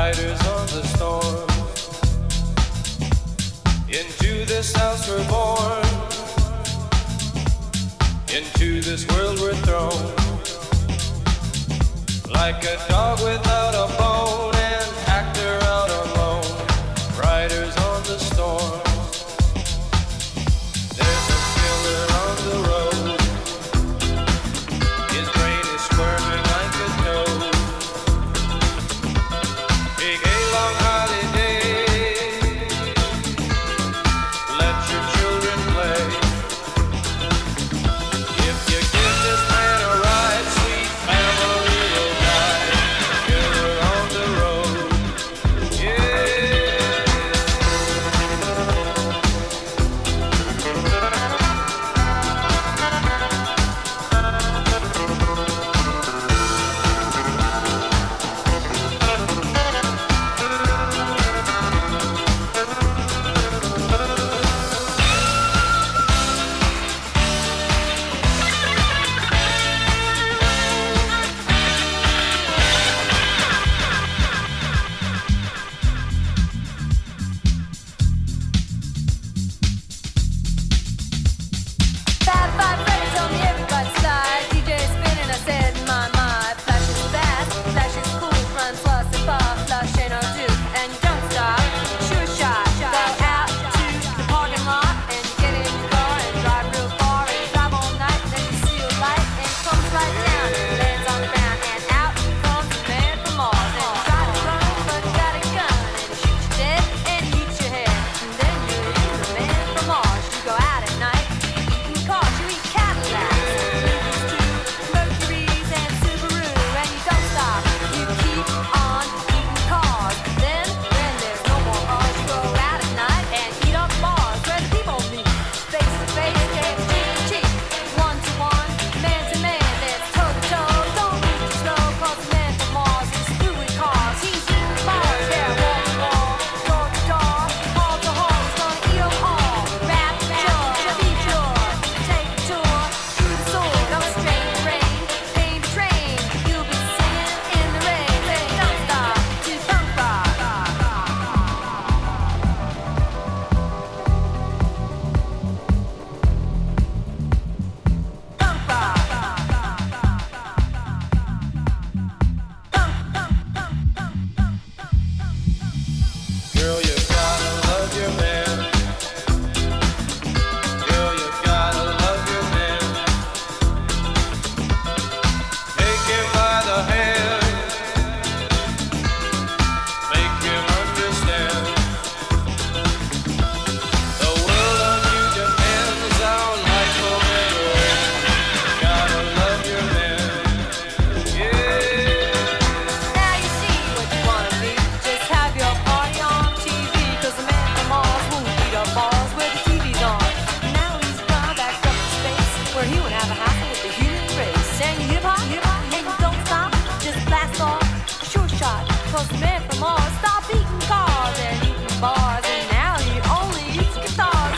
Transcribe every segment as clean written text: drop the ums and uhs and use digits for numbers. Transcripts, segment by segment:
riders on the storm. Into this house we're born, into this world we're thrown, like a dog without a bone, an actor out alone, riders on the storm. There's a killer on the road, his brain is squirming like a toad. Take a long holiday, let your children play. If you give this man a ride, sweet family will die. Killer on the road, yeah. Five, Freddy told me everybody slide. DJ spinning, I said, my. Flash is fast, flash is cool, front plus and far, flush ain't no do. And you don't stop, sure shot. Go out to the parking lot and you get in your car and drive real far and drive all night. Then you see a light and it comes right down and lands on the ground and out comes the man from Mars. And you try to run, but you got a gun and he shoots you dead and he eats your head. And then you're the man from Mars. You go out at night. Cars, you eat Cadillacs, Mercuries and Subaru, and you don't stop. You keep on eating cars. Then there's no more cars. You go out at night and eat up bars where the people meet. Face to face, cheek to cheek, one to one, man to man. There's toe to toe. Don't move too slow, 'cause the man from Mars is through with cars. He's eating bars, yeah, wall to wall, door to door, hall to hall. He's gonna eat 'em all. Rapture, be sure. Take a tour through the sword of a straight rain. Paint train, you'll be singing in the rain. Say, don't stop to punk rock. Punk rock. Girl, you gotta love your man. Girl, you gotta love your man. Take him by the hand, make him understand. The world on you depends, our life will never end. Gotta love your man, yeah. Now you see what you wanna be. Just have your party on TV, 'cause the man from Mars won't beat up bars where the TV's on. Now he's gone back up to space, where he would have a hassle with the human race. And you hip hop, and you don't stop, just blast off, sure shot. 'Cause the man from Mars stopped eating cars and eating bars, and now he only eats guitars.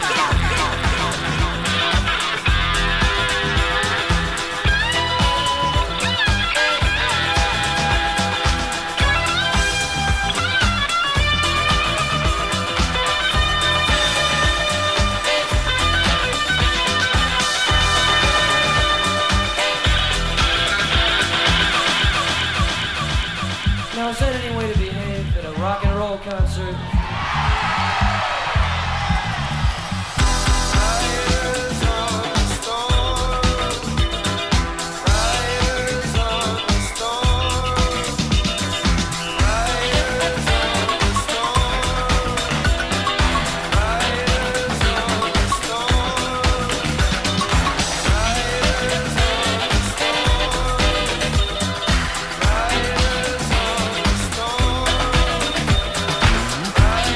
Now, is there any way to behave at a rock and roll concert? Riders on the storm, riders on the storm, riders on the storm, riders on the storm, riders on the storm, riders on the storm.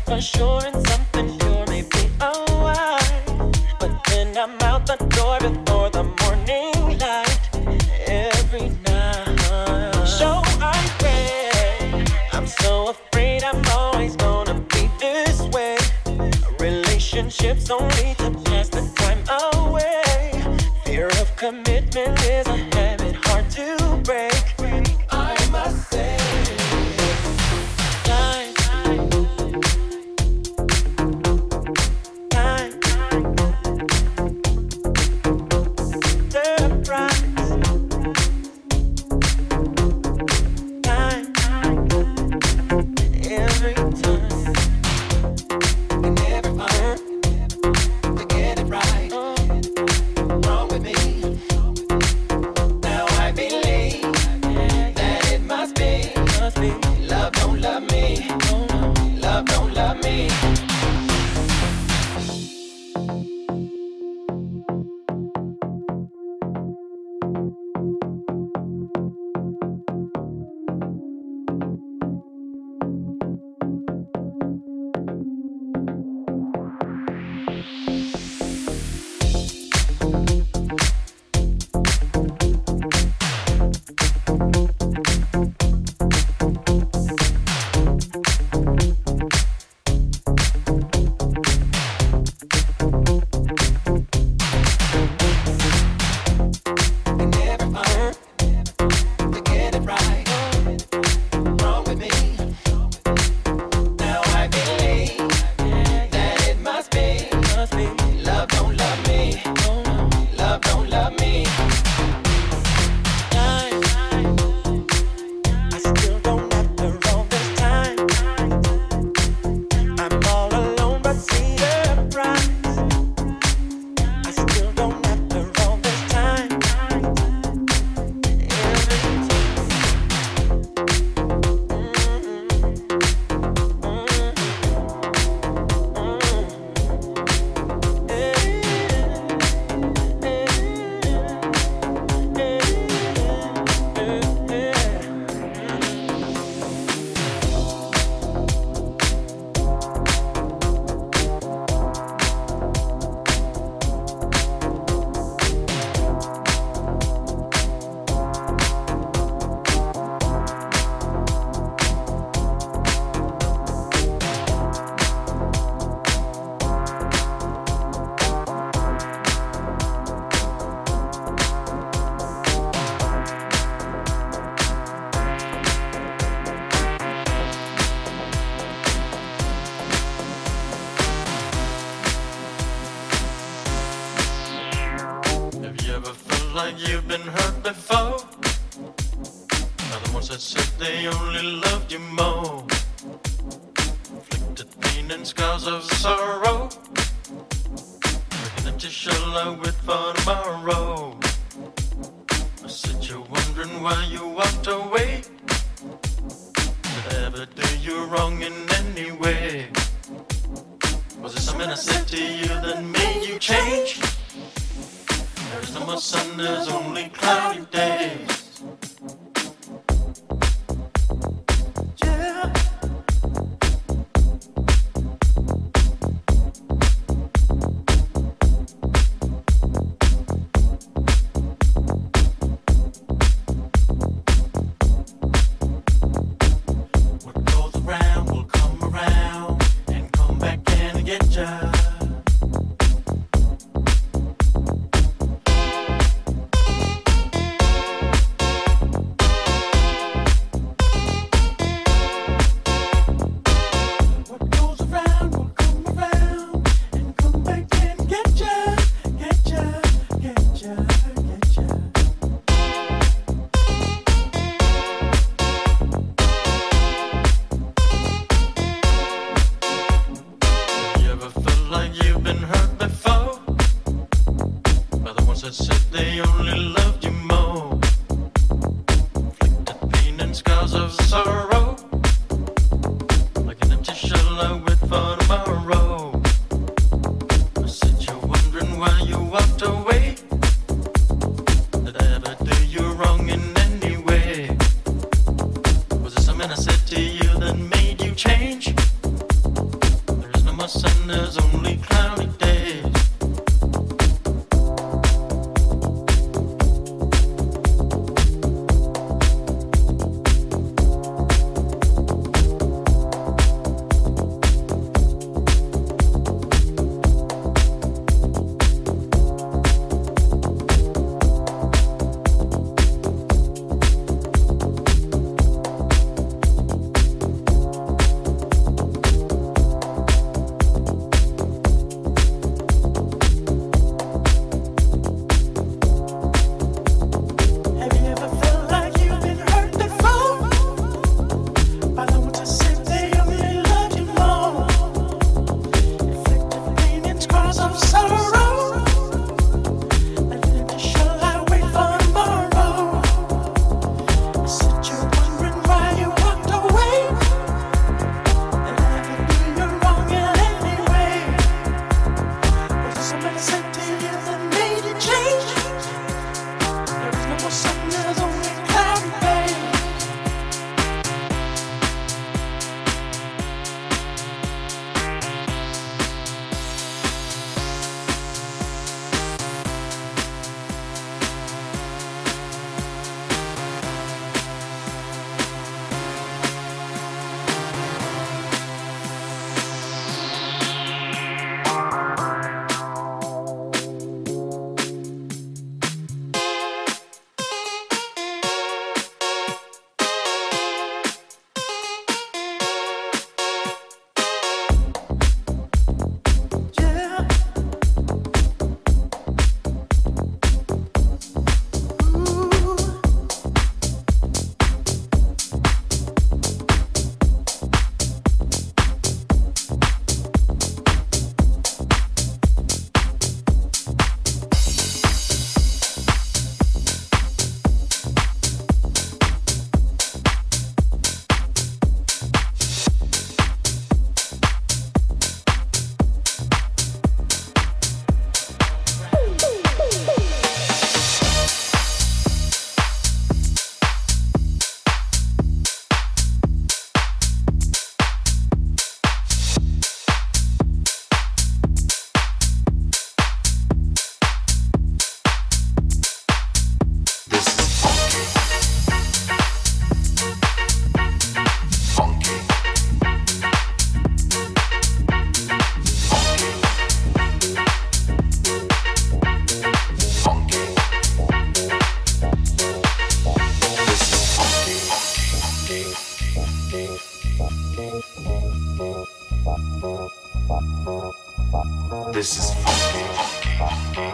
for sure and something pure may be a wine. But then I'm out the door before the morning light every night. So I pray, I'm so afraid I'm always gonna be this way. Relationships only to pass the time away. Fear of commitment is a habit hard to break. I must say, time, surprise, time, every time, and never find to get it right. Wrong with me. Now I believe that it must be. Love don't love me. Love don't love me. You've been hurt before by the ones that said they only loved you more. Inflicted pain and scars of sorrow, breaking empty shell I wait for tomorrow. I said you're wondering why you walked away. Did I ever do you wrong in any way? Was it something I said to you that made you change? There's no more sun, there's only cloudy days. Yeah. What goes around will come around and come back and get ya. This is funky.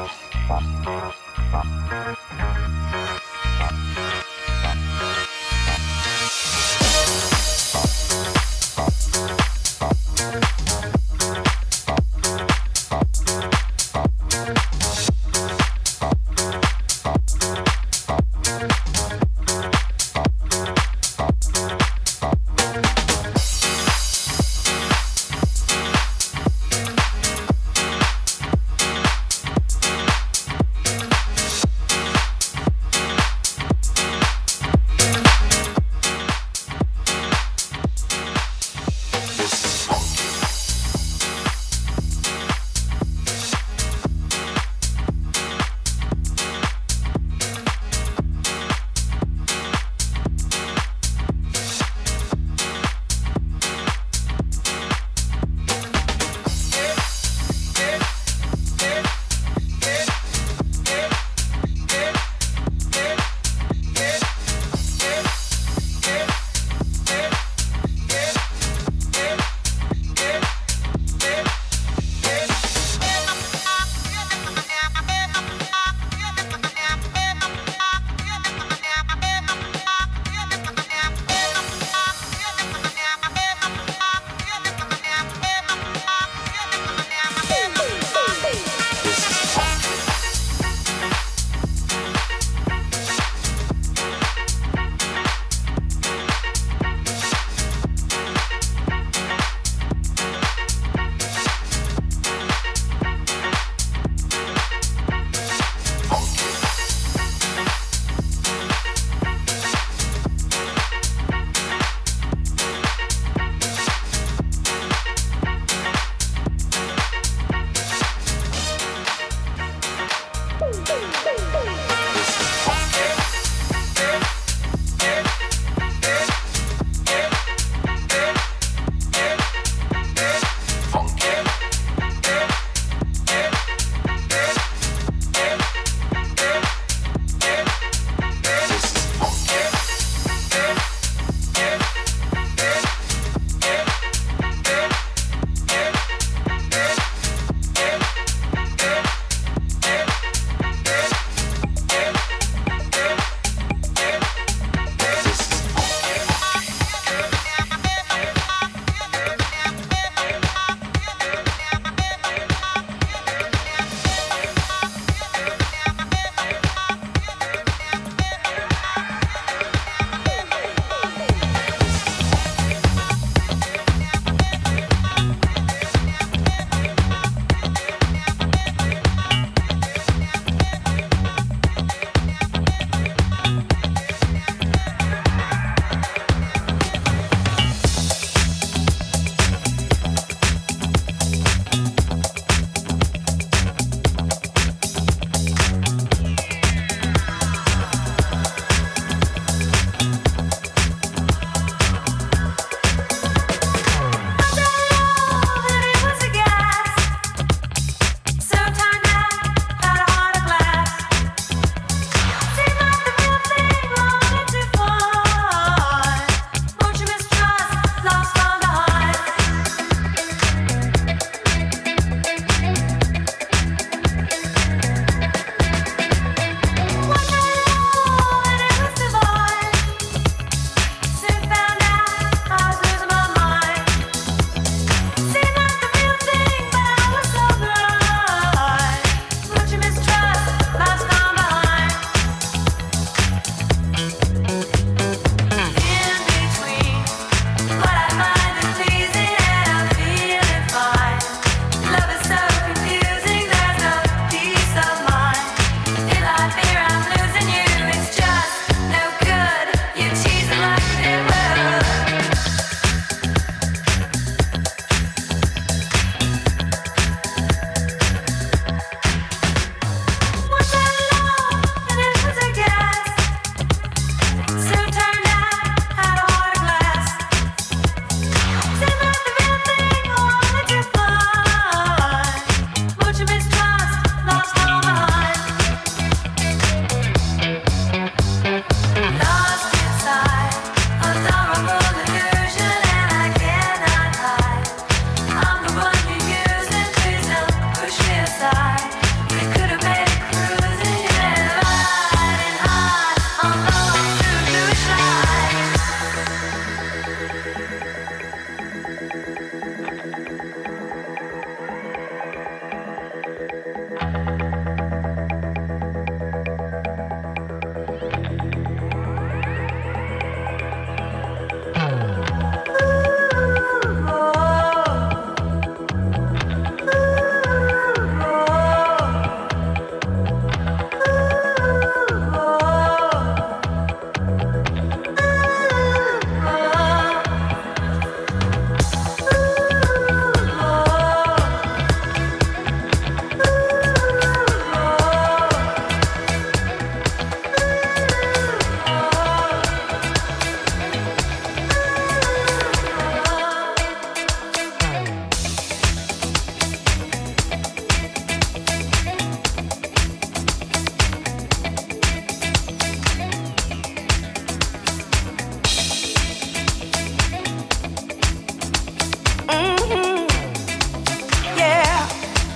Mhm. Yeah.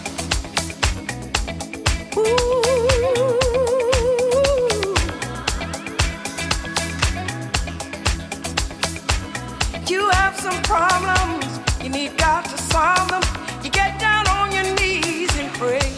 Ooh. You have some problems, you need God to solve them. You get down on your knees and pray.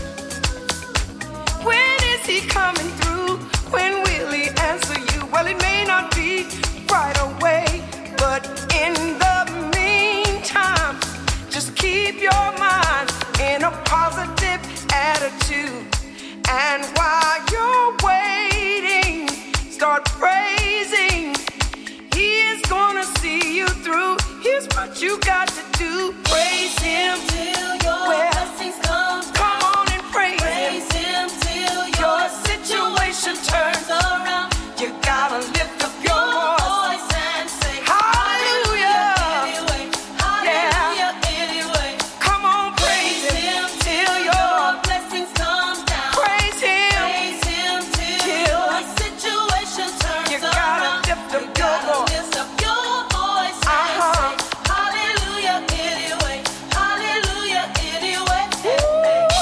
When is He coming through? When will He answer you? Well, it may not be right away, but in the meantime, just keep your mind in a positive attitude. And while you're waiting, start praising. He is gonna see you through. Here's what you got to do. Praise Him till your blessings come. Come on and praise Him. Praise Him till your situation turns around. You gotta lift up your voice and say hallelujah. Anyway, hallelujah, anyway. Come on, praise Him till your blessings come down. Praise Him till your situation turns around. You gotta lift up your voice. Hallelujah anyway. Hallelujah anyway.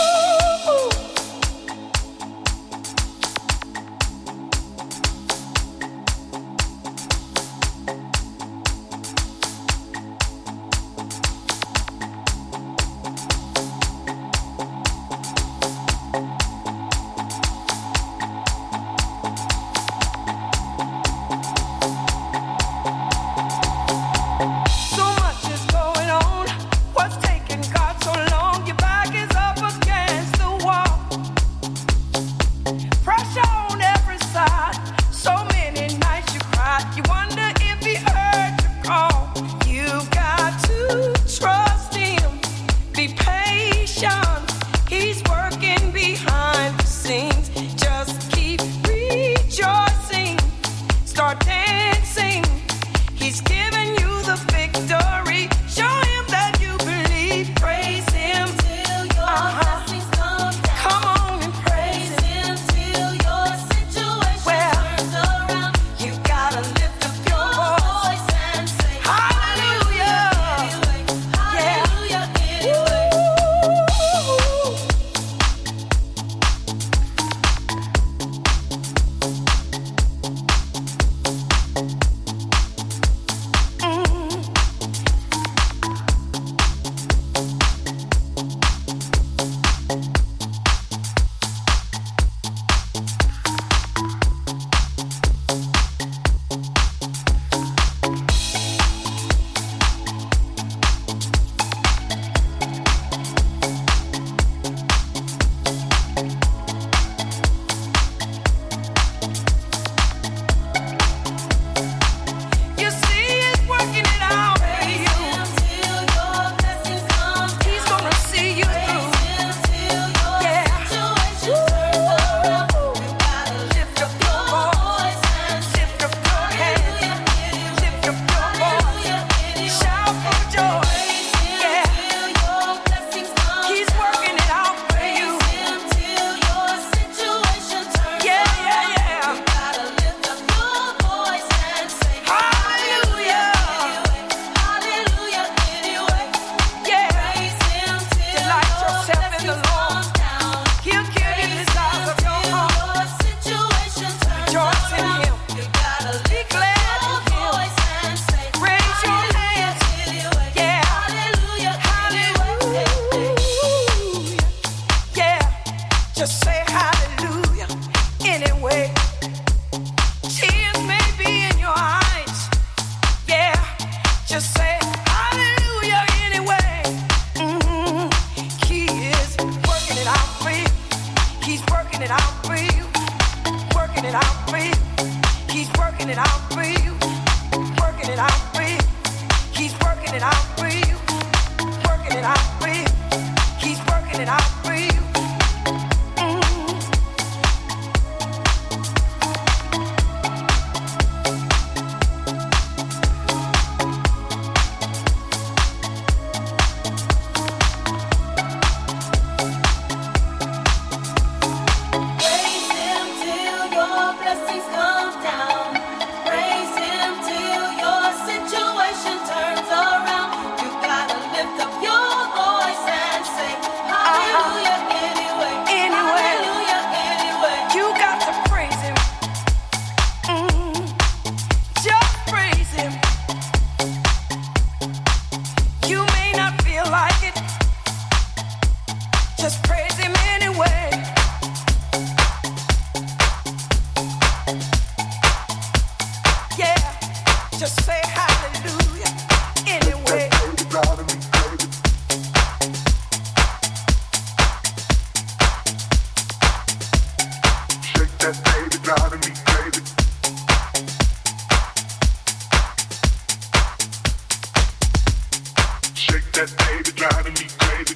that baby driving me crazy.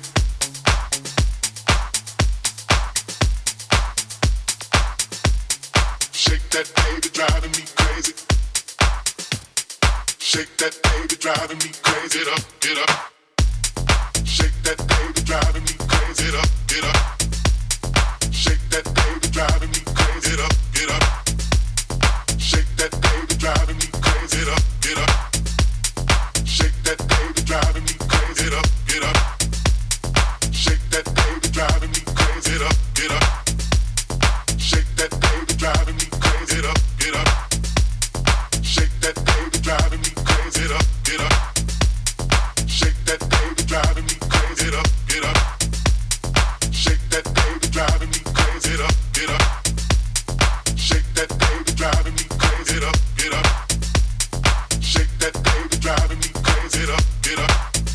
Shake that baby driving me crazy. Shake that baby driving me crazy. Get up, get up. Shake that baby driving me crazy. Get up, get up. Shake that baby driving me crazy. Get up, get up. Shake that baby driving me crazy. Get up, get up. Shake that baby driving me crazy. Get up, get up. Shake that baby driving me crazy. Get up, get up. Shake that baby driving me crazy. Get up, get up. Shake that baby driving me crazy. Get up, get up. Shake that baby driving me crazy. Get up, get up. Shake that baby driving me crazy. Get up, get up. Shake that baby driving me crazy. Get up, get up. Shake that baby driving me crazy. Get up, get up.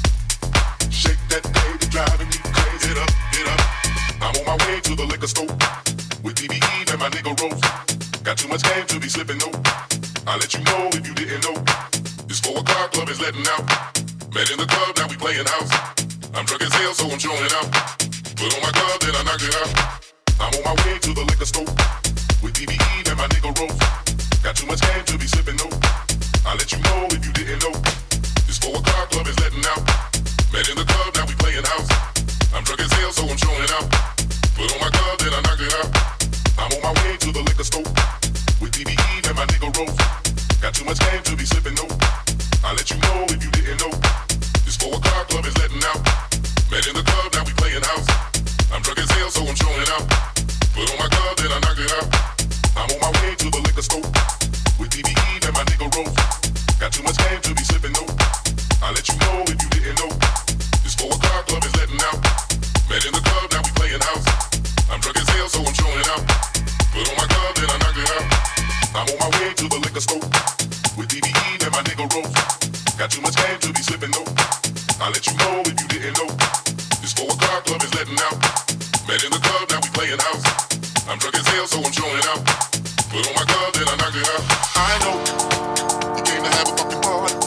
Shake that baby driving me crazy. Get up, get up. I'm on my way to the liquor store with DBE and my nigga Rose. Got too much game to be slipping, no. I'll let you know if you didn't know. This 4 o'clock club is letting out. Met in the club, now we playing house. I'm drunk as hell, so I'm showing out. Put on my glove, then I knock it out. I'm on my way to the liquor store with DBE and my nigga Rose. Got too much game to be slipping, no. I'll let you know if you didn't know. This 4 o'clock club is letting out. Met in the club, now we playing house. I'm drunk as hell, so I'm showing out. Put on my glove, then I knock it out. I'm on my way to the liquor store with DBE and my nigga Rose. Got too much game to be slipping, no. I'll let you know if you didn't know. This 4 o'clock club is letting out. Met in the club, now we playing house. I'm drunk as hell, so I'm showing out. Put on my glove, then I knock it out. I'm on my way to the liquor store with DBE and my nigga Rose. Got too much game to be slipping, no. I'll let you know if you didn't know. This 4 o'clock club is letting out. Met in the club, now we playing house. I'm drunk as hell, so I'm showing out. Put on my glove, then I knock it out. I'm on my way to the liquor store with DBE and my nigga Rose. Got too much game to be slipping, no. I'll let you know if you didn't know. This 4 o'clock club is letting out. Met in the club, now we playing house. I'm drunk as hell, so I'm showing out. Put on my glove, then I knock it out. I know you came to have a fucking party.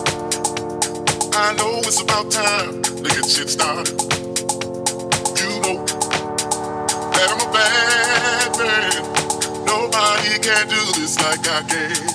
I know it's about time to get shit started. You know that I'm a bad man. Nobody can do this like I can.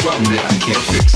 problem that I can't fix.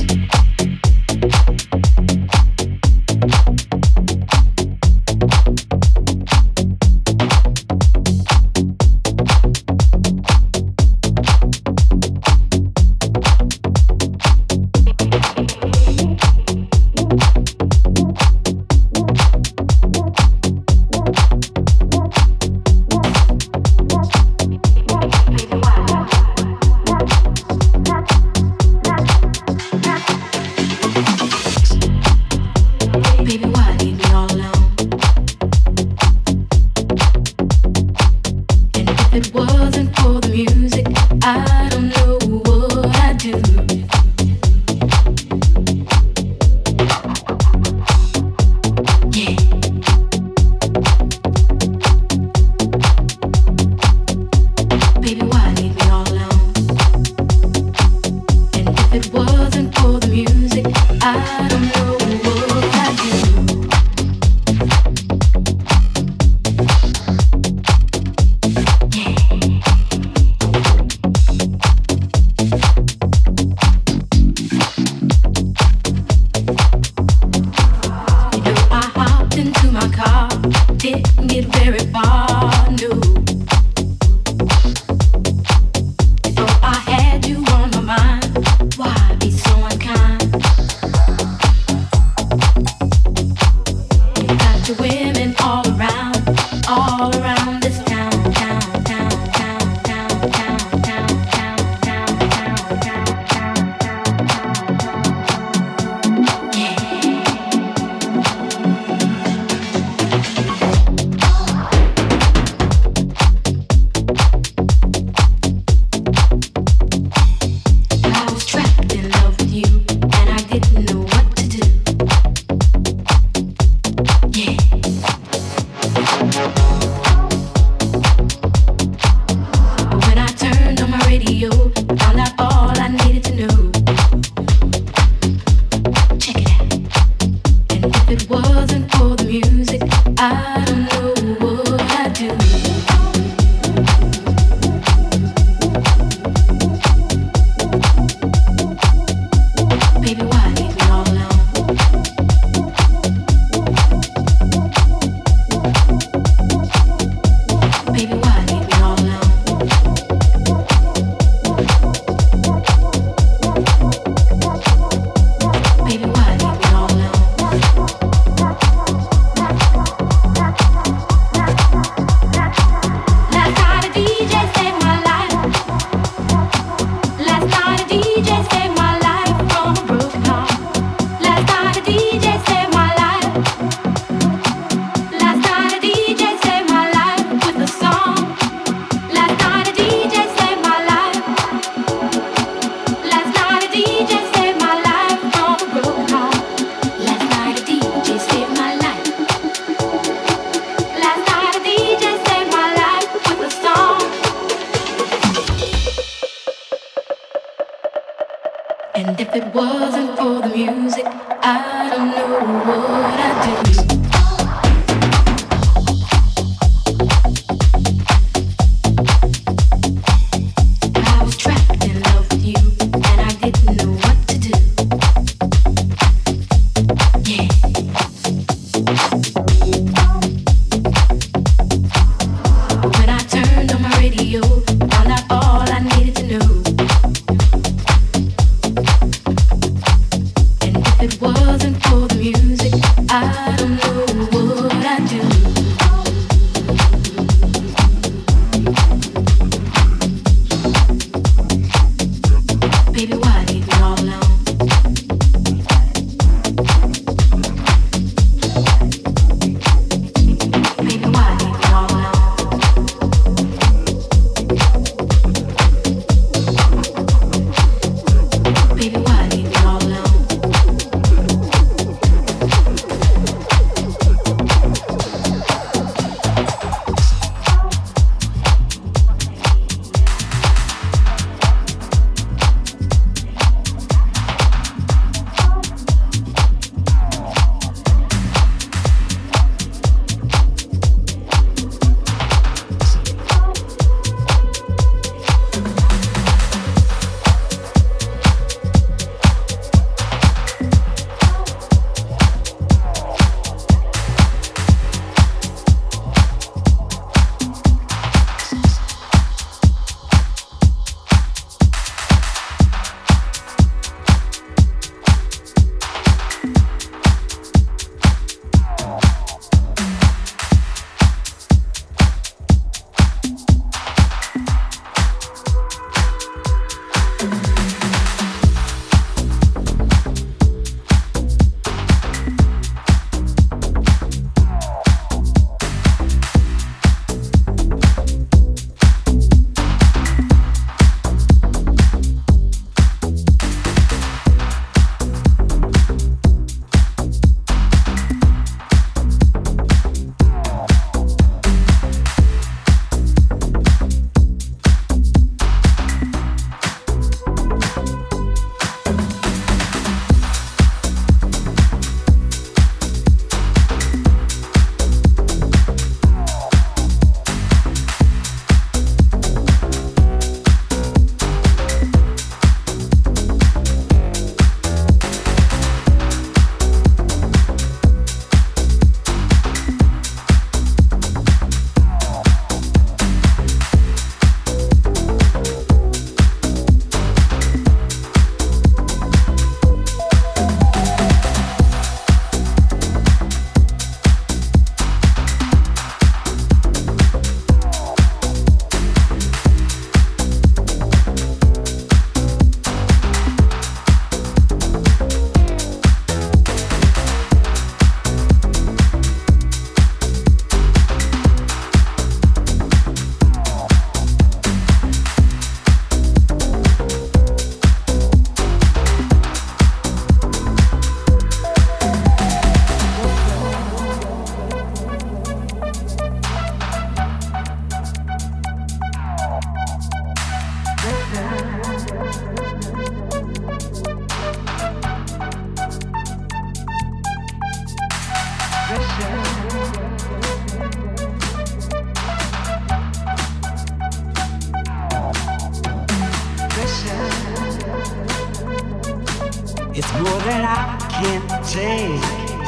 It's more than I can take.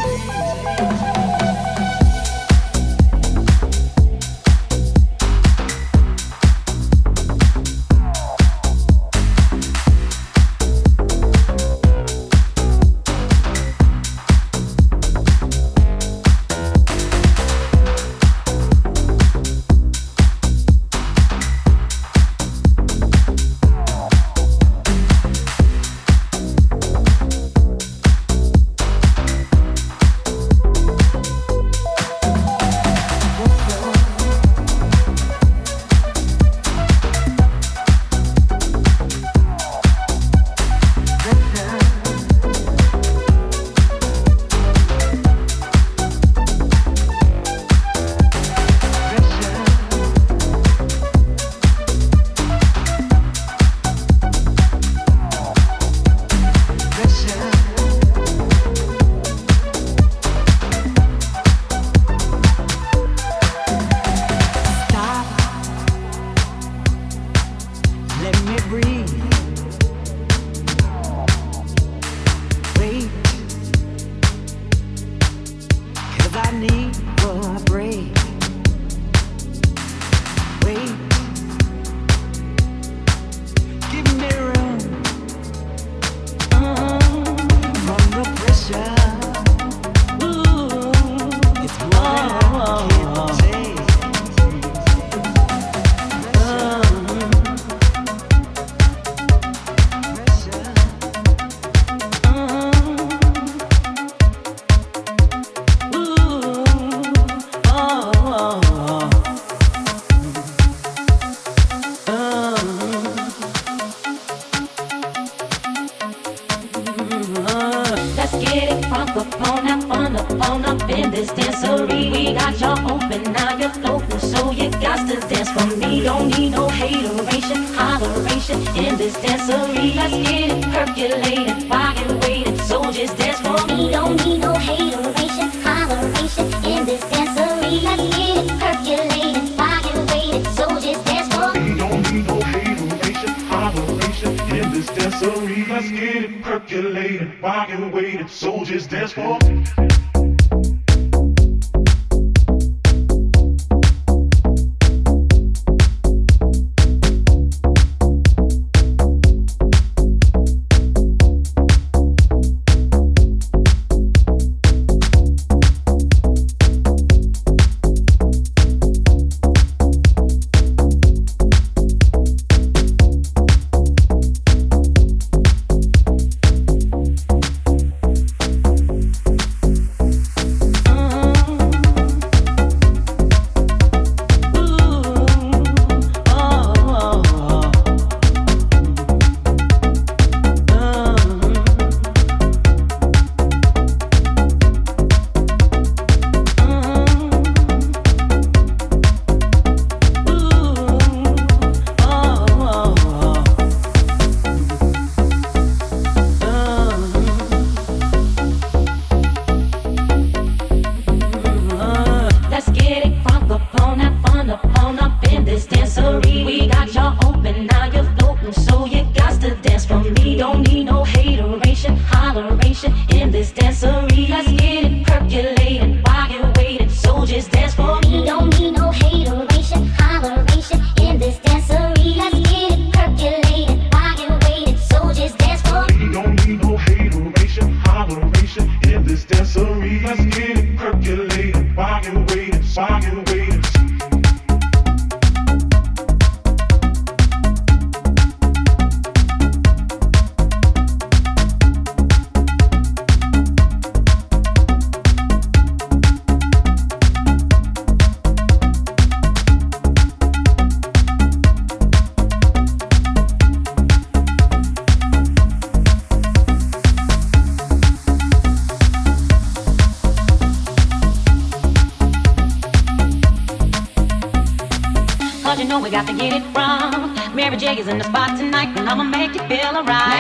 In the spot tonight, and I'ma make you feel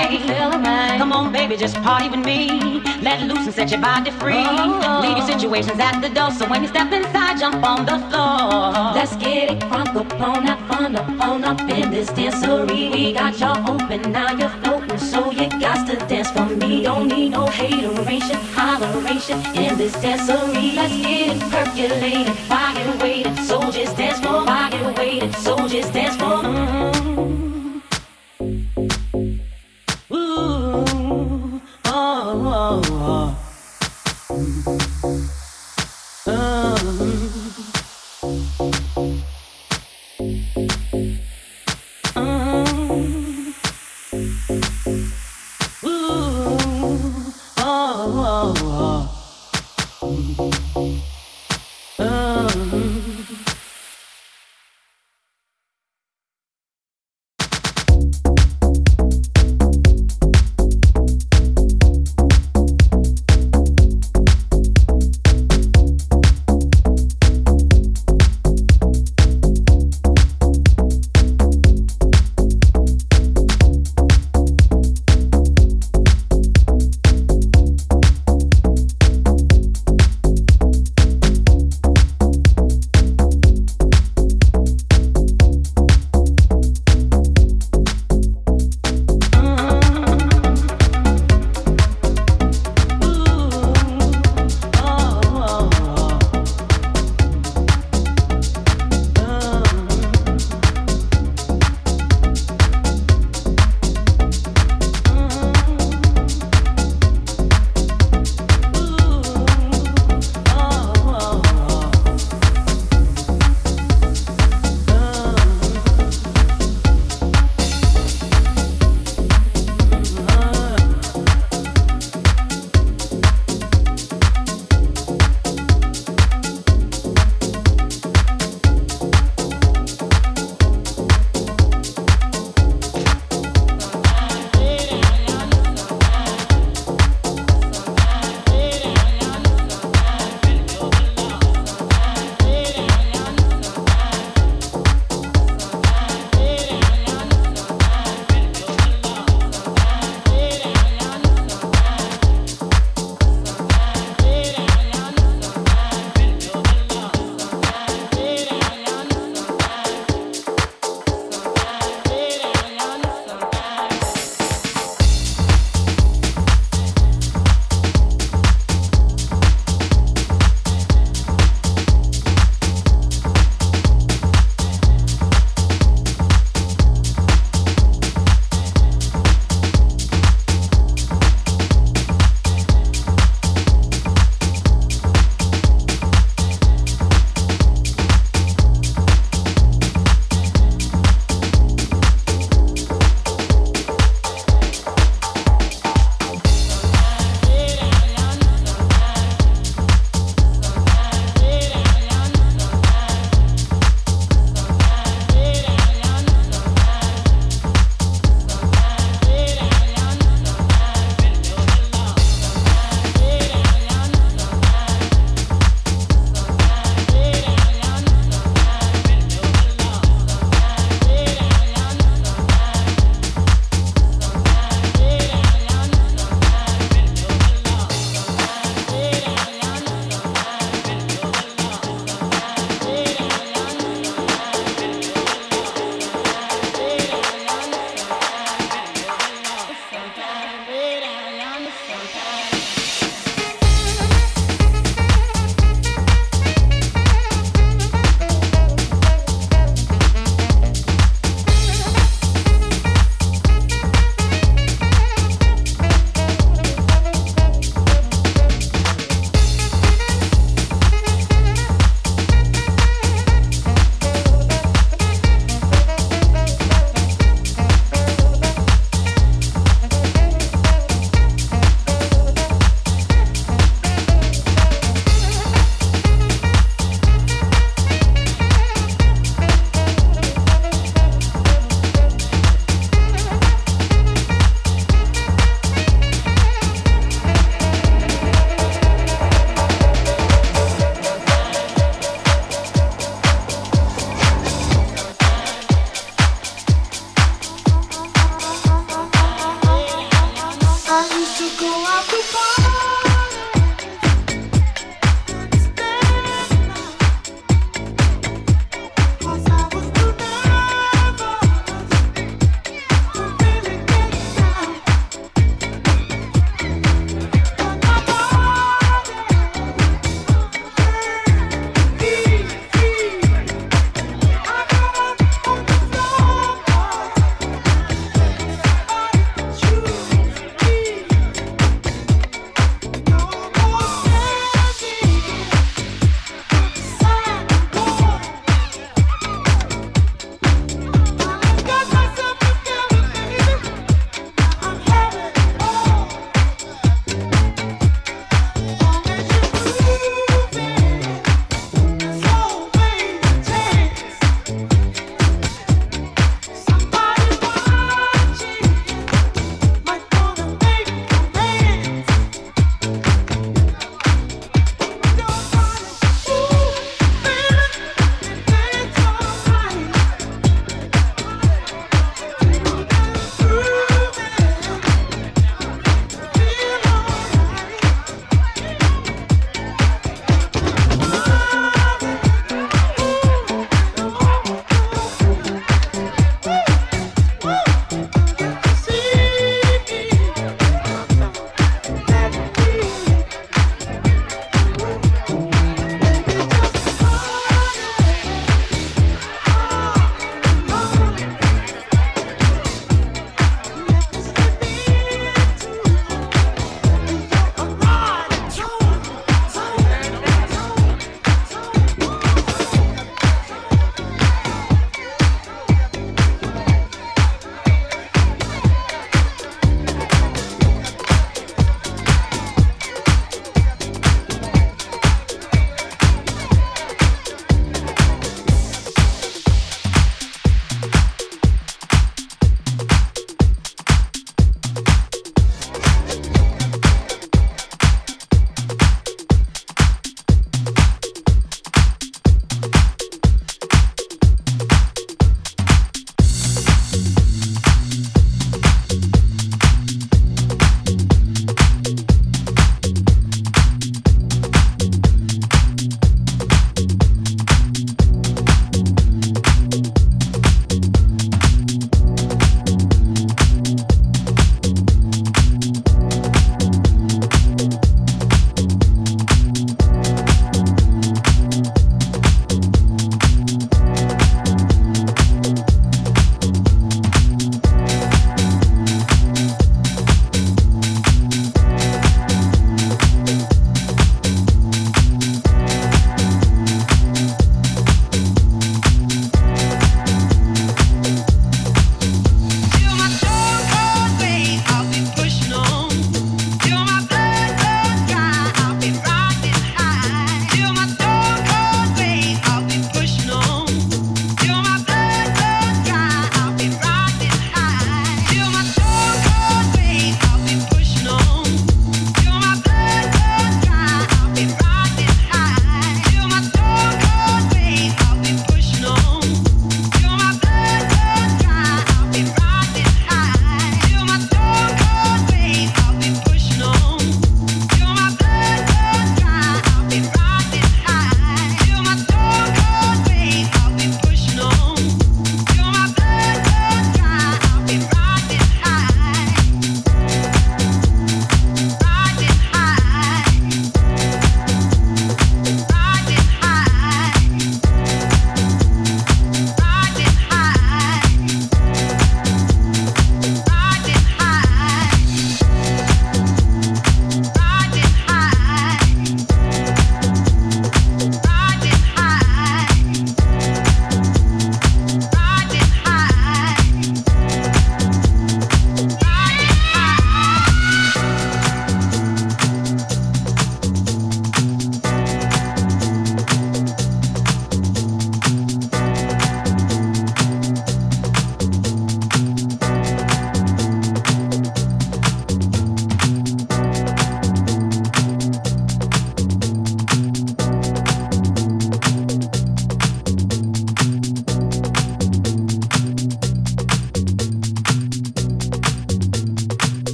alright. Come on, baby, just party with me. Let loose and set your body free. Leave your situations at the door, so when you step inside, jump on the floor. Let's get it crunk up on that fun up in this dancery. We got y'all open, now you're floating, so you got to dance for me. don't need no hateration, holleration in this dancery. Let's get it percolated, why you waiting? So just dance for, why you waiting? So just dance for. Ooh, oh, oh, oh. Oh,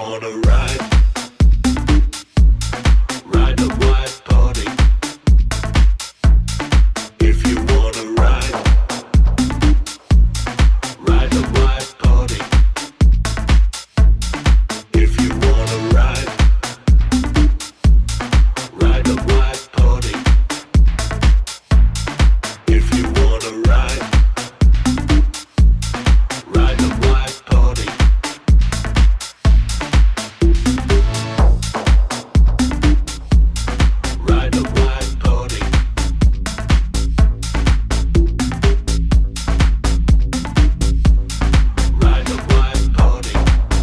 wanna ride, ride the white party. If you wanna ride, ride the white party. If you wanna ride, ride the white party. If you wanna ride, ride the white party. Ride the white party. Ride the white party.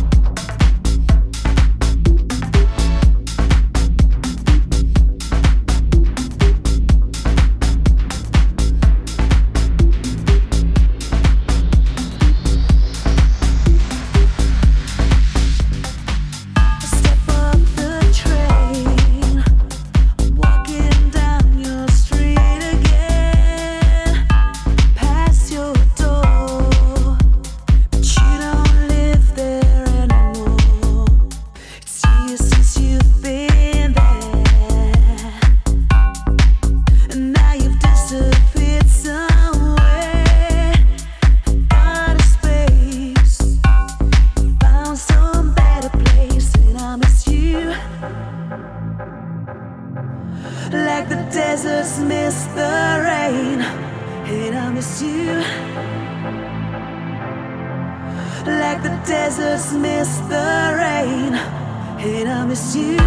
Step off the train, walking down your street again. Pass your door, but you don't live there anymore. It's years since you've been there, and now you've disappeared somewhere. Got a space. Found some better place, and I miss you. Like the deserts miss the rain, and I miss you. Like the deserts miss the rain, and I miss you.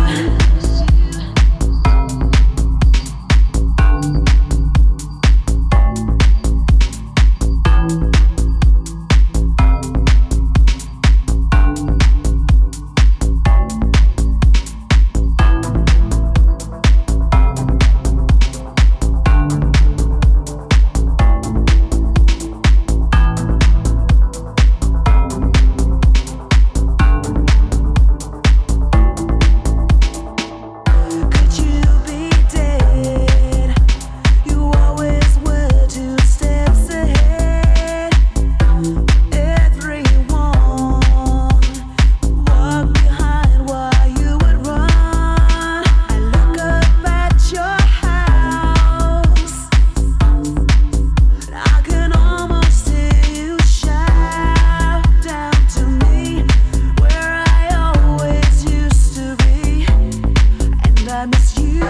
Could you be dead? You always were 2 steps ahead. Everyone walk behind while you would run. I look up at your house, I can almost hear you shout down to me, where I always used to be. And I miss you.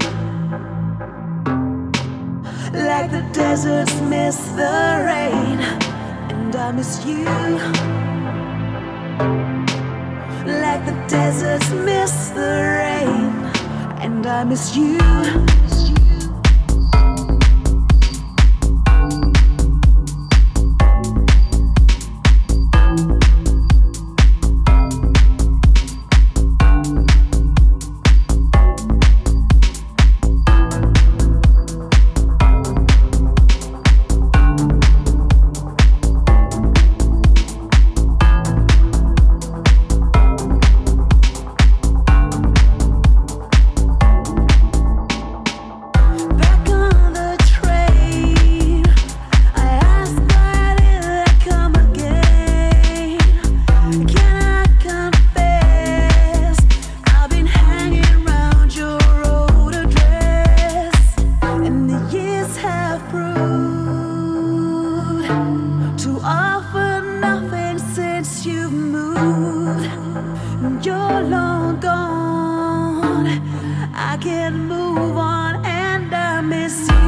Like the deserts miss the rain, and I miss you. Like the deserts miss the rain, and I miss you. Back on the train, I ask why did I come again? Can I confess? I've been hanging around your old address, and the years have proved to offer nothing since you've moved. You're long gone. I can't move on, and I miss you.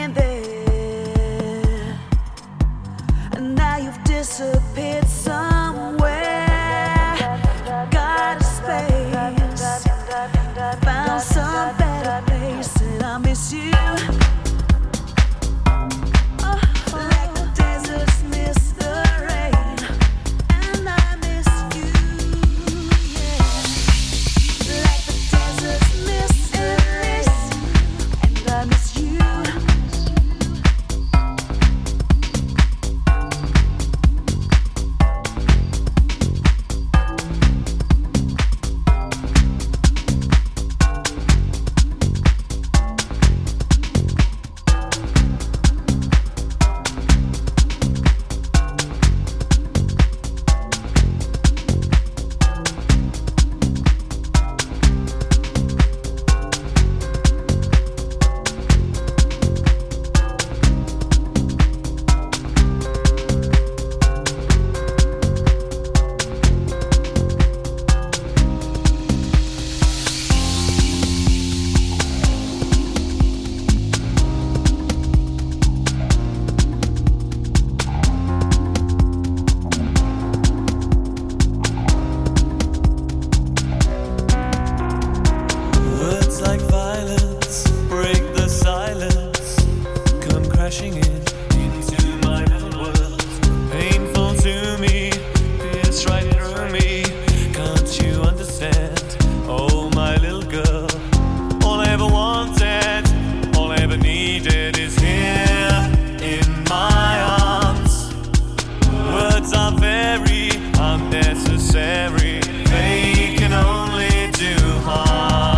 disappeared somewhere. miss you. Like the deserts miss the rain, and I miss you. Yeah. Like the deserts miss the rain, and I miss you. Words like violence break the silence, come crashing into my little world. Painful to me, pierce right through me. Can't you understand? Oh, my little girl. All I ever wanted, all I ever needed is here in my arms. Words are very unnecessary. They can only do harm.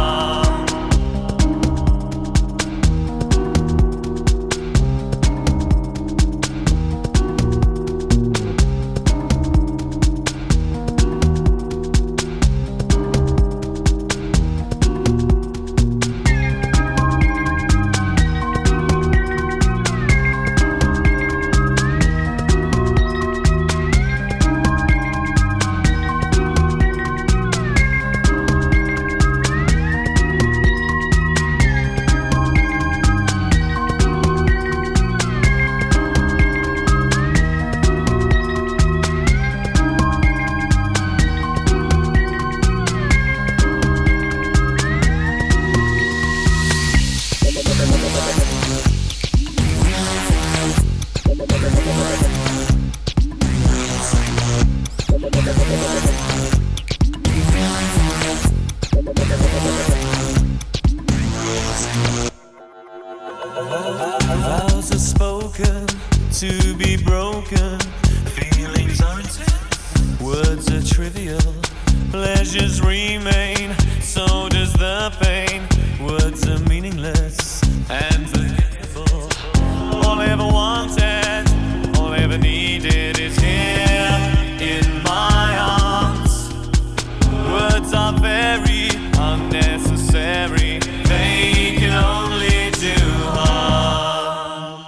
Vows are spoken to be broken. Feelings are intense. Words are trivial. Pleasures remain. So does the pain. Words are meaningless and forgetful. All I ever wanted, all I ever needed is here in my arms. Words are very unnecessary. They can only do harm.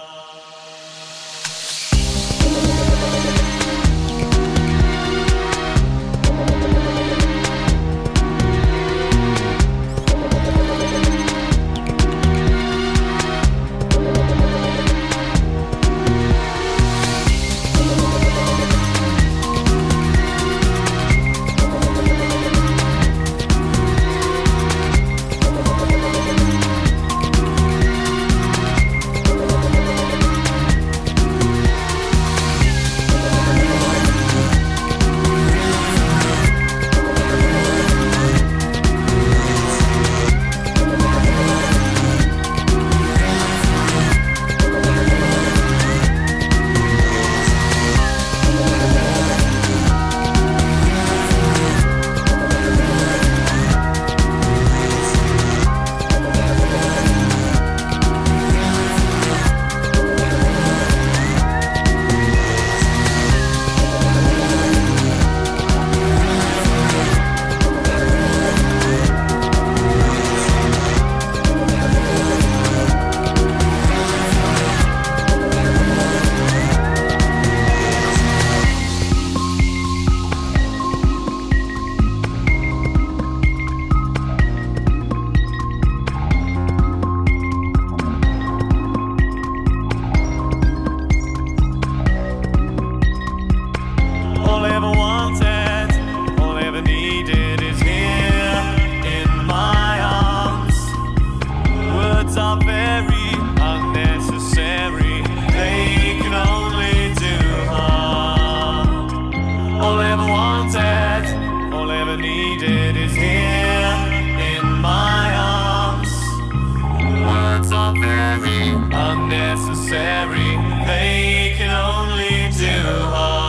very unnecessary. They can only do harm. All ever wanted, all ever needed is here in my arms. Words are very unnecessary. They can only do harm.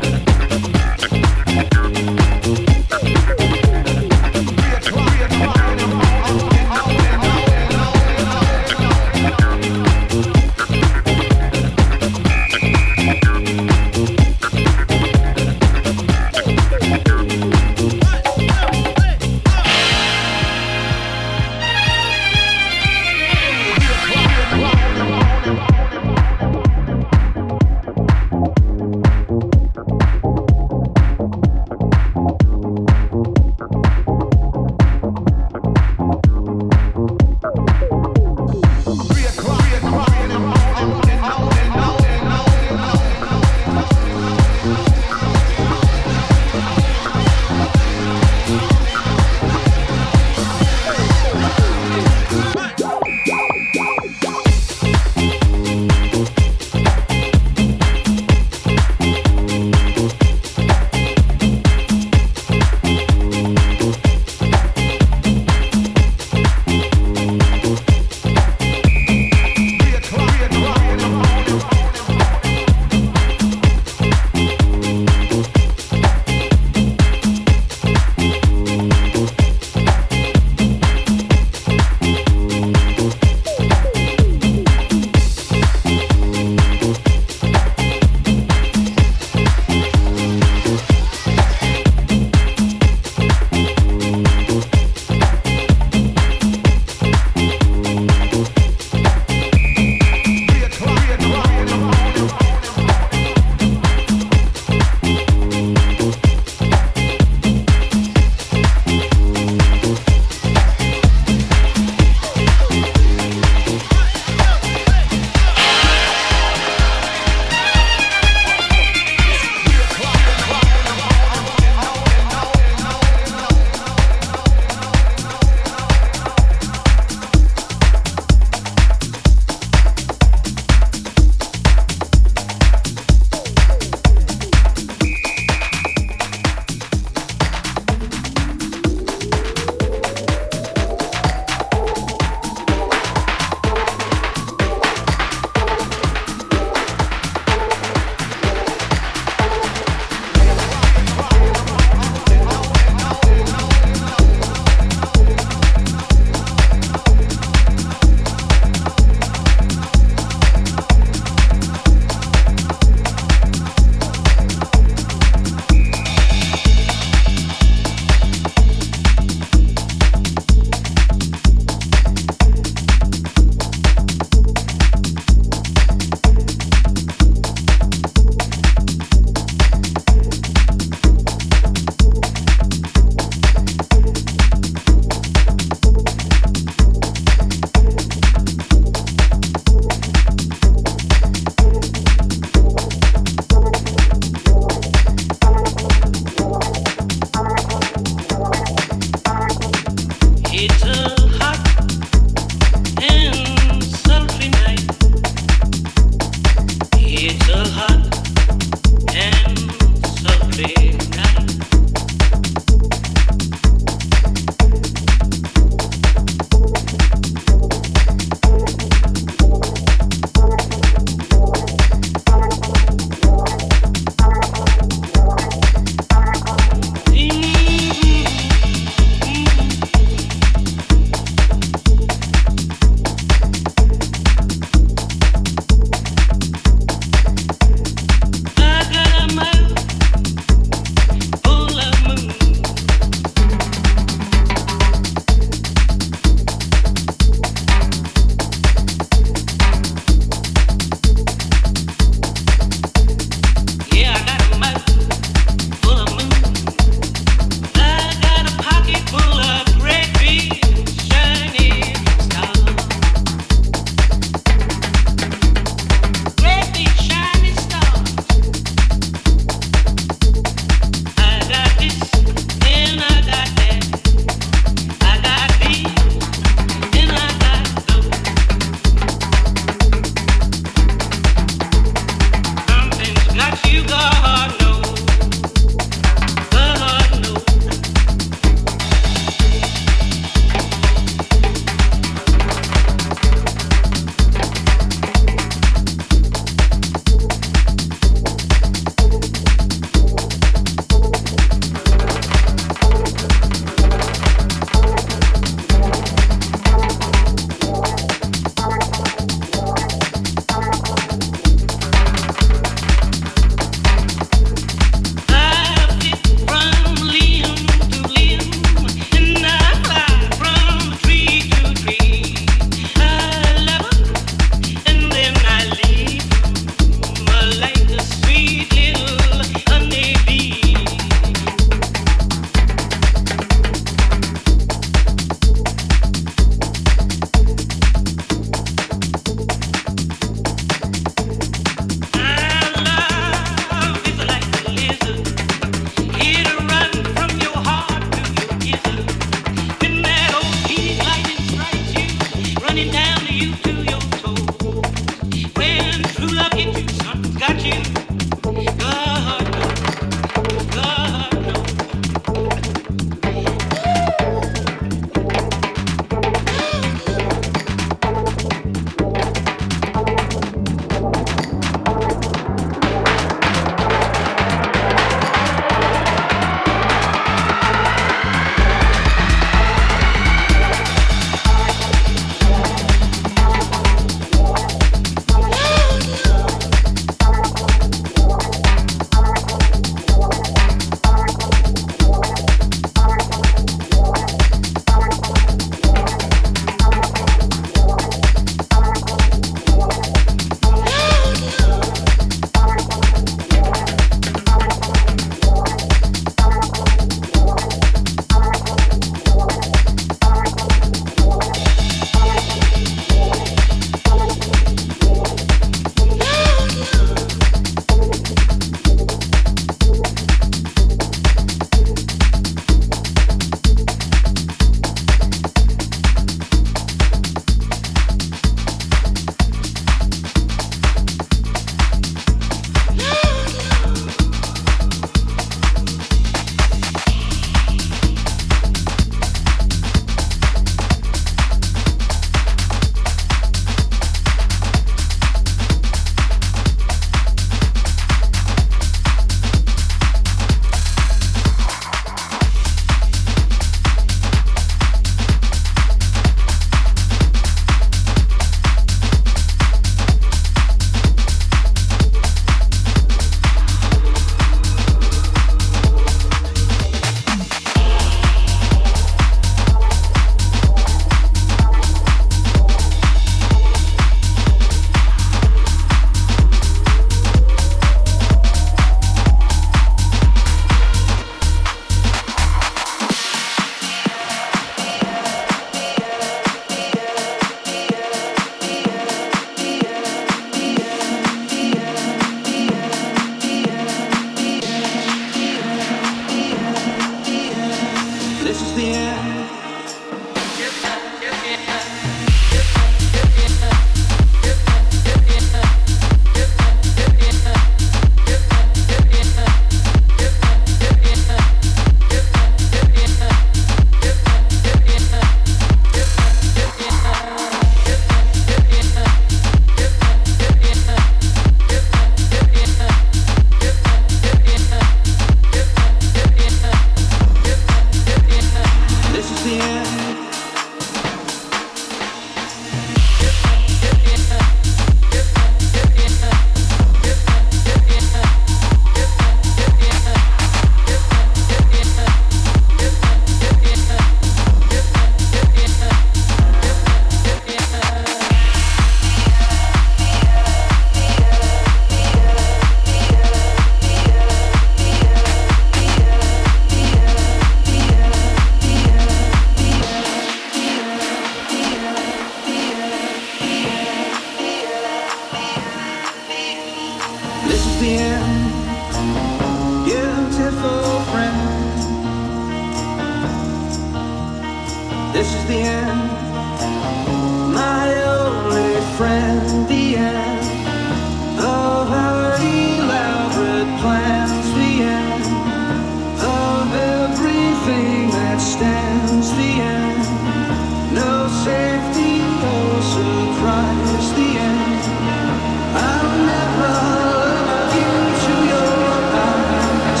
the end of our elaborate plans, the end of everything that stands, the end. No safety, no surprise, the end. I'll never look into your eyes.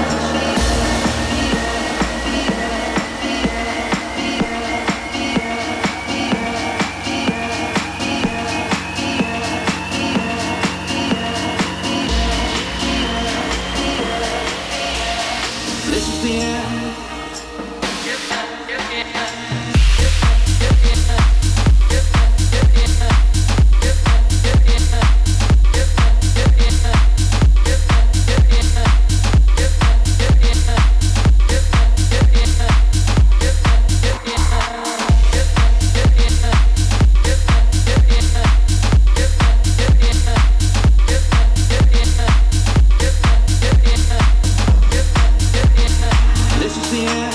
This is the end. This is the end.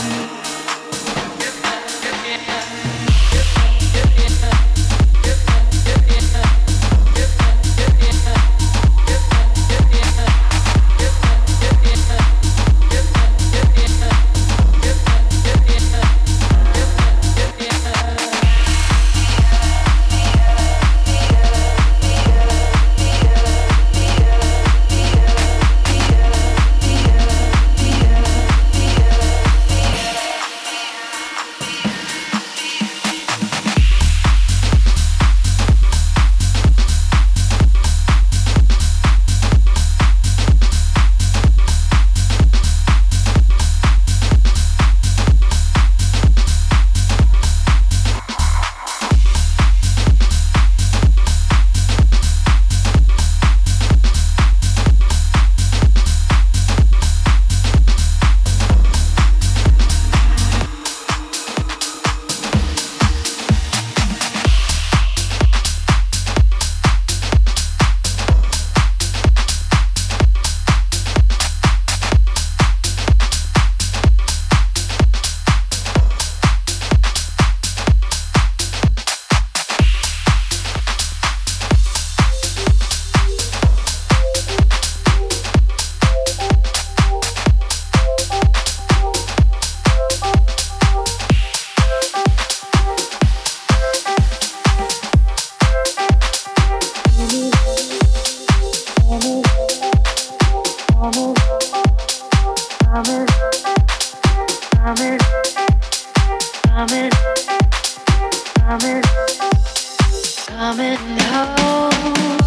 Coming home.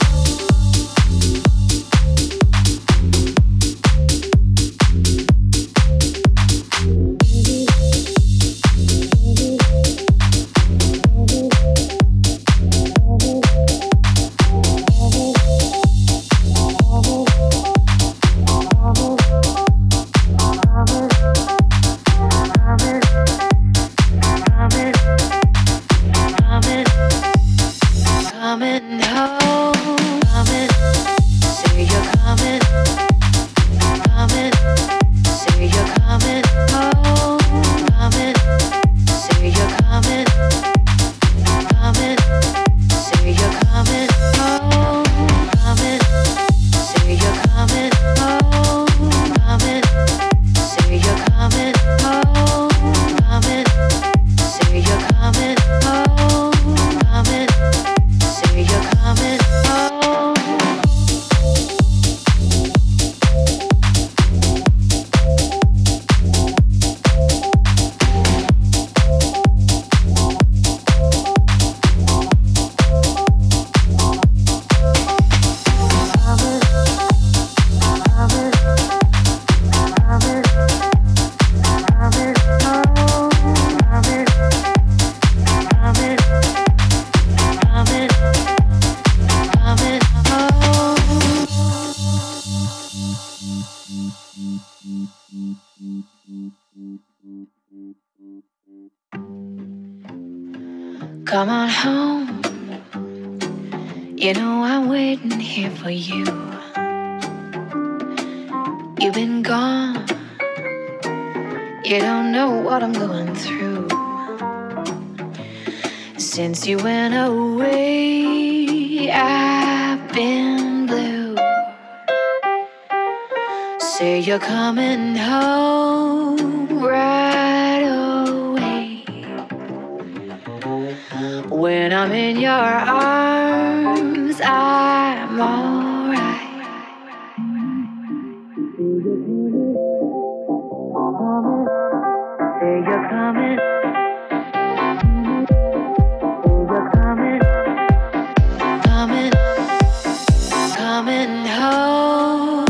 Come on home. You know I'm waiting here for you. You've been gone. You don't know what I'm going through. Since you went away, Say you're coming home right away. When I'm in your arms, I'm alright. Say you're coming. Coming home.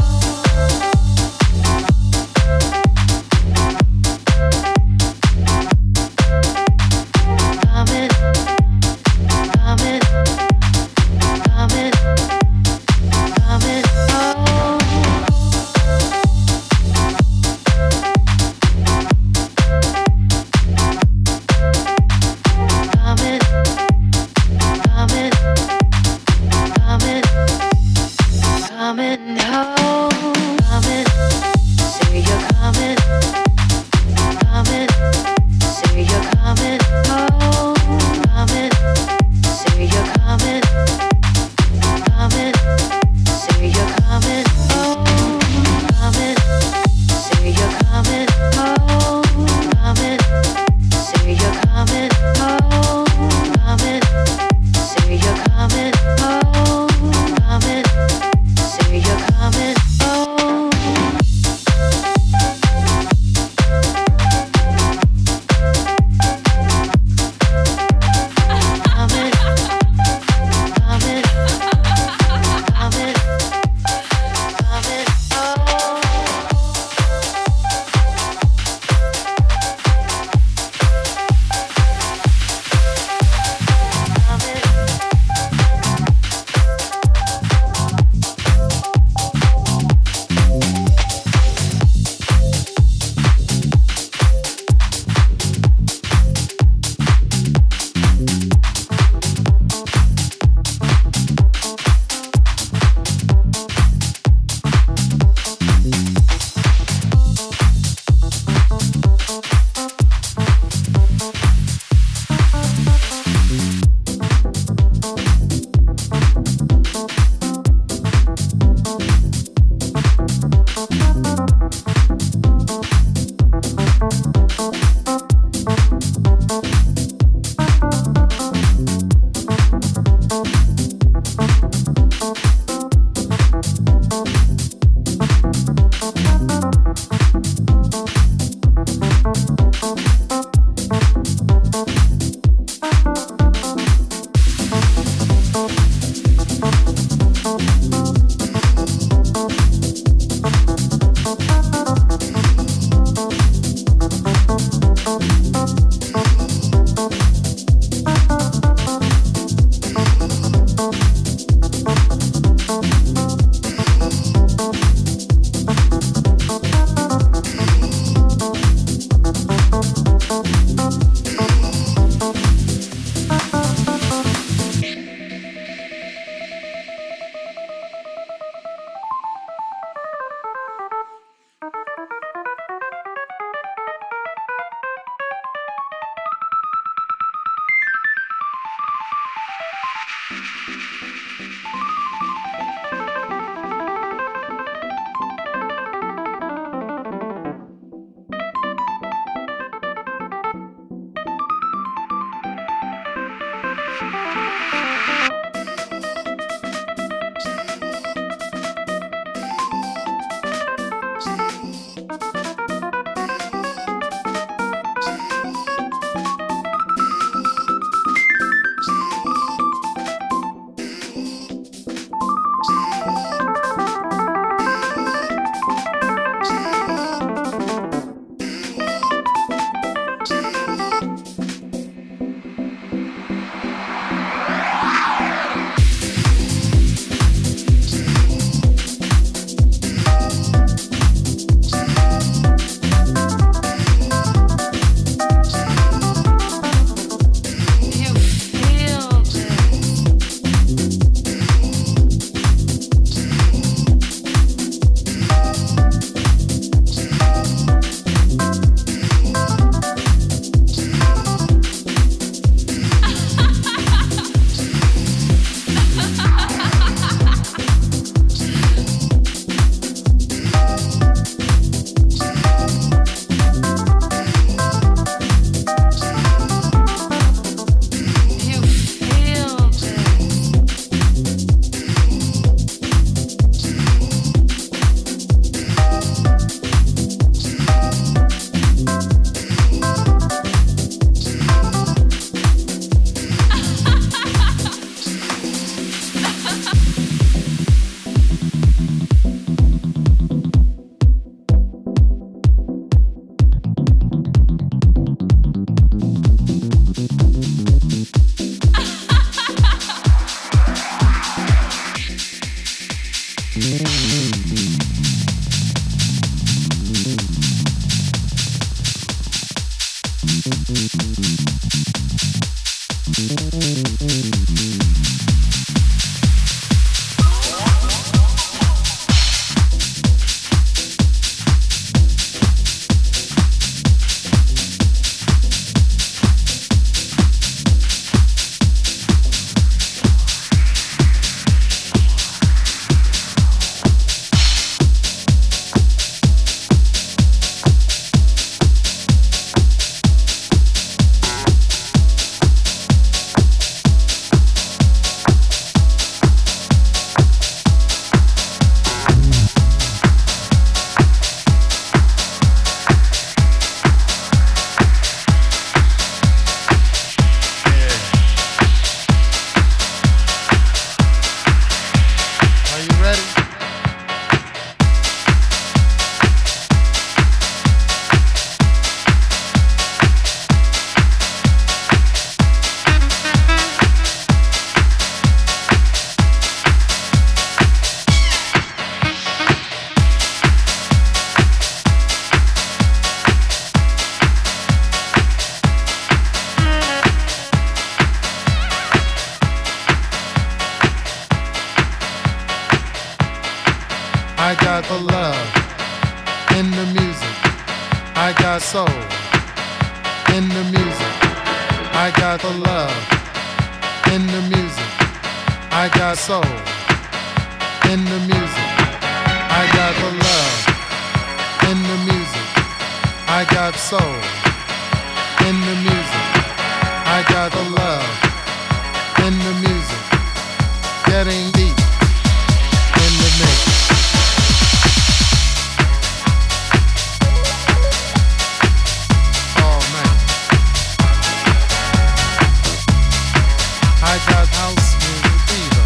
Coming I got the love in the music. I got soul in the music. I got the love in the music. I got soul in the music. I got the love in the music. I got soul in the music. I got the love in the music. Getting deep in the mix. I got house music fever.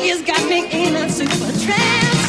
has got me in a super trance.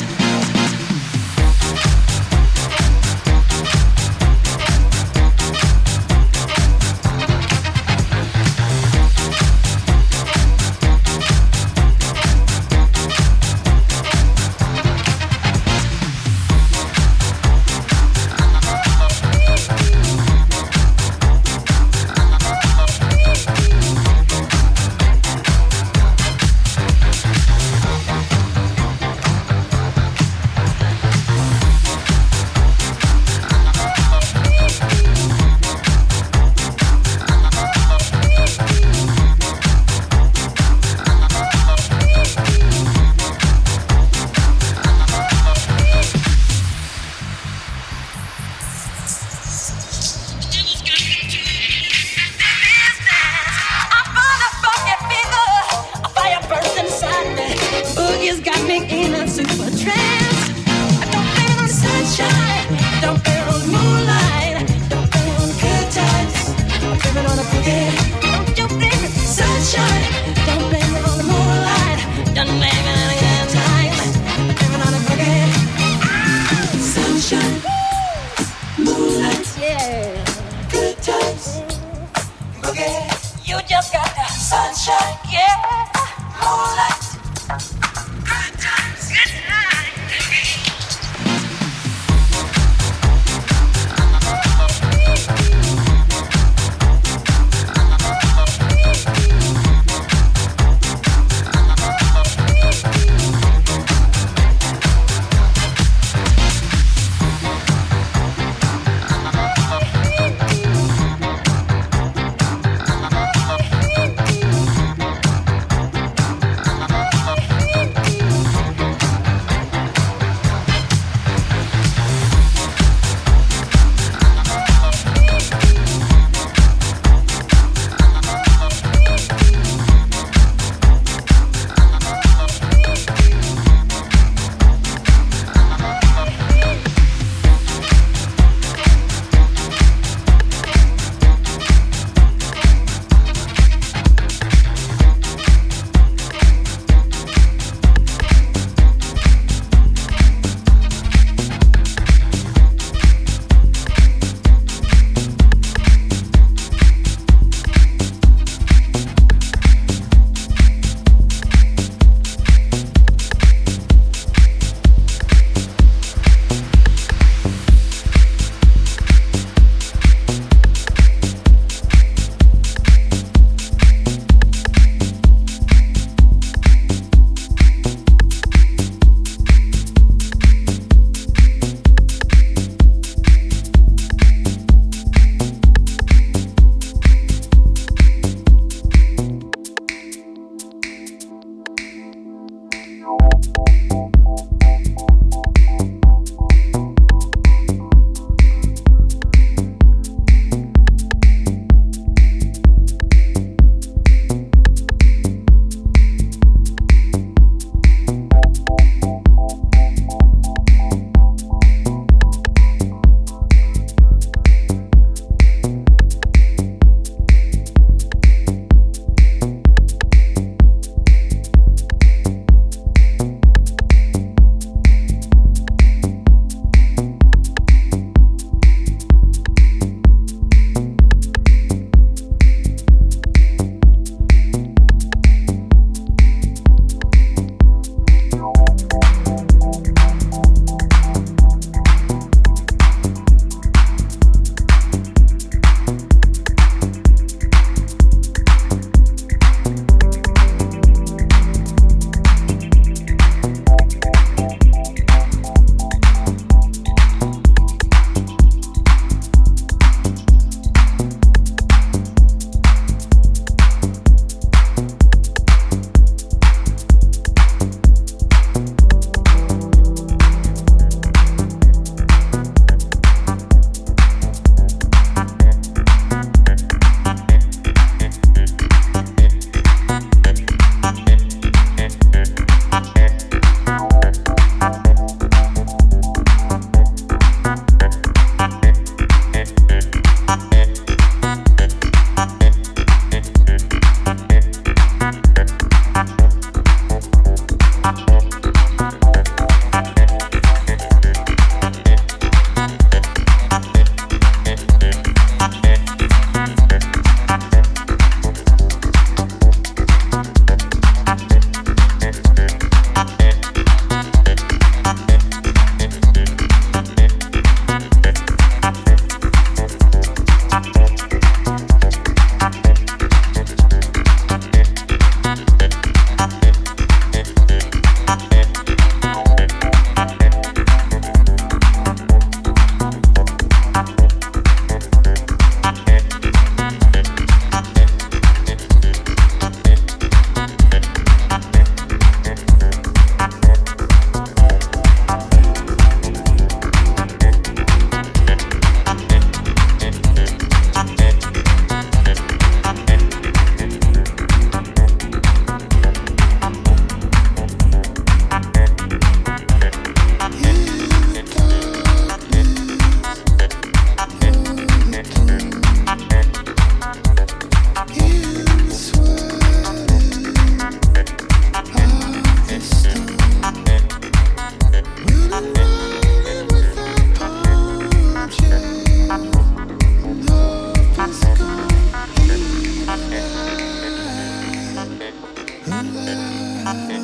love.